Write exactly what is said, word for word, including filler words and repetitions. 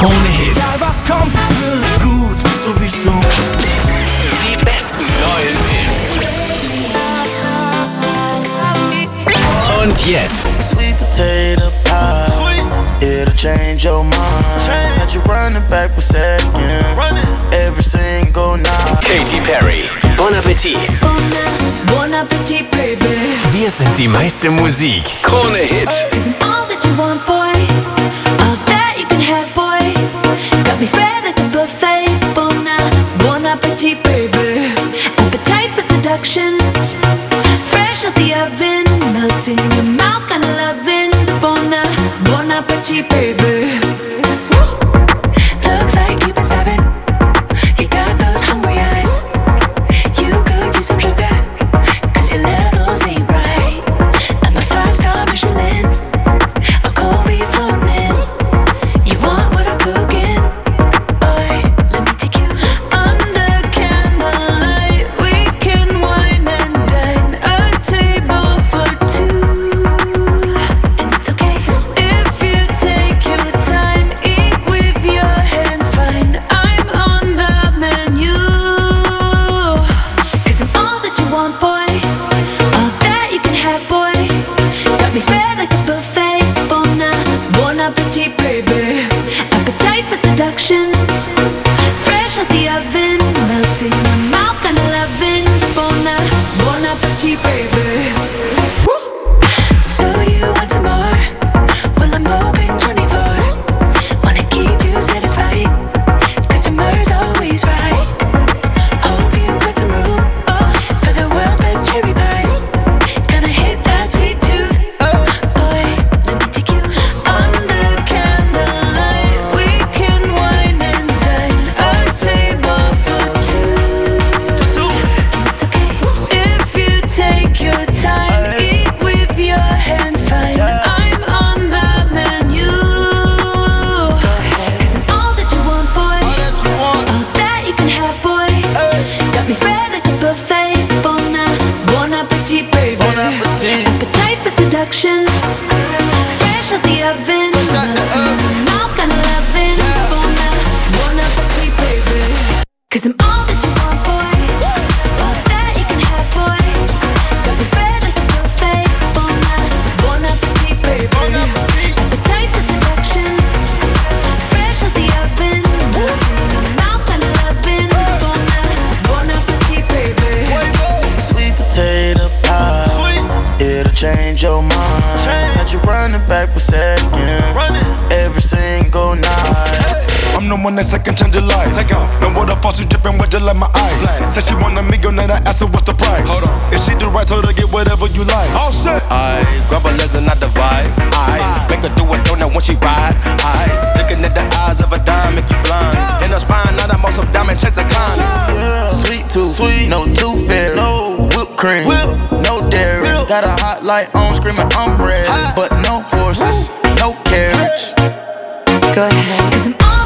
Krone Hit. Egal was kommt, es wird gut, sowieso. Die besten neuen Hits. Und jetzt Sweet potato pie. Sweet. It'll change your mind. Change. Got you running back for seconds. Running. Every single night. Katy Perry. Bon Appetit. Bon Appetit, baby. Wir sind die meiste Musik. Krone Hit. Isn't all that you want, boy? All that you can have, boy. Got me spread like a buffet. Bon, bon appetit, baby. Appetite for seduction. Fresh out the oven. Melting in your mouth, kinda loving. Bon, bon appetit, baby. Woo. Looks like you've been starving. You got those hungry eyes. You could use some sugar. Cause your levels ain't right. I'm a five-star Michelin. A cold beef floating. You want what I'm cooking? Boy, let me take you under candlelight. We can wine and dine. A table for two. And it's okay if you take your time. Eat with your hands, fine. I'm on the menu. Cause I'm all that you want, boy. All that you can have, boy. Got me spread like a buffet. Bon, bon appetit, baby. Appetite for seduction. Fresh out the oven. Melting in your mouth, kinda loving. Bon, bon appetit, baby. Woo. So you want some more? Well, I'm open twenty-four. Wanna keep you satisfied. Cause your mur's always right. Hope you got some room for the world's best cherry pie. Gonna hit that sweet tooth. Boy, let me take you under candlelight. We can wine and dine. A table for two. And it's okay if you take your time. Eat with your hands, fine. I'm on the menu. Cause I'm all that you want, boy. All that you want. All that you can have, boy. Got me spread like a buffet. Bon, bon appetit, baby. Bon appetit. Appetite for seduction. Fresh out the oven. Fresh out the Melting in oven. your mouth, kinda loving. Bon, bon appetit, baby. Cause I'm all that you want, boy. All that you can have, boy. Got me spread like a buffet. Bon, bon appetit, baby. Bon appetit. Appetite for seduction. Fresh out the oven. Melting in your mouth, kinda loving. Bon, bon appetit, baby. Sweet potato pie. Sweet. It'll change your mind. Change. Got you running back for seconds. Running. Every single night. I'm the one that second change your life. Take off. No water falls, she dripping wet just like my eyes. Said she want a millionaire, I asked her what's the price. Hold on. If she do right, told her get whatever you like. Oh shit. I grab her legs and I divide. I make her do a donut when she ride. I looking at the eyes of a dime, make you blind. In her spine, now I'm on some diamond checks to climb. Yeah. Sweet tooth, sweet, no tooth fairy, no whipped cream, Whip. no dairy. Whip. Got a hot light on, screaming I'm ready, hot. But no horses, no carriage. Go ahead. Cause I'm all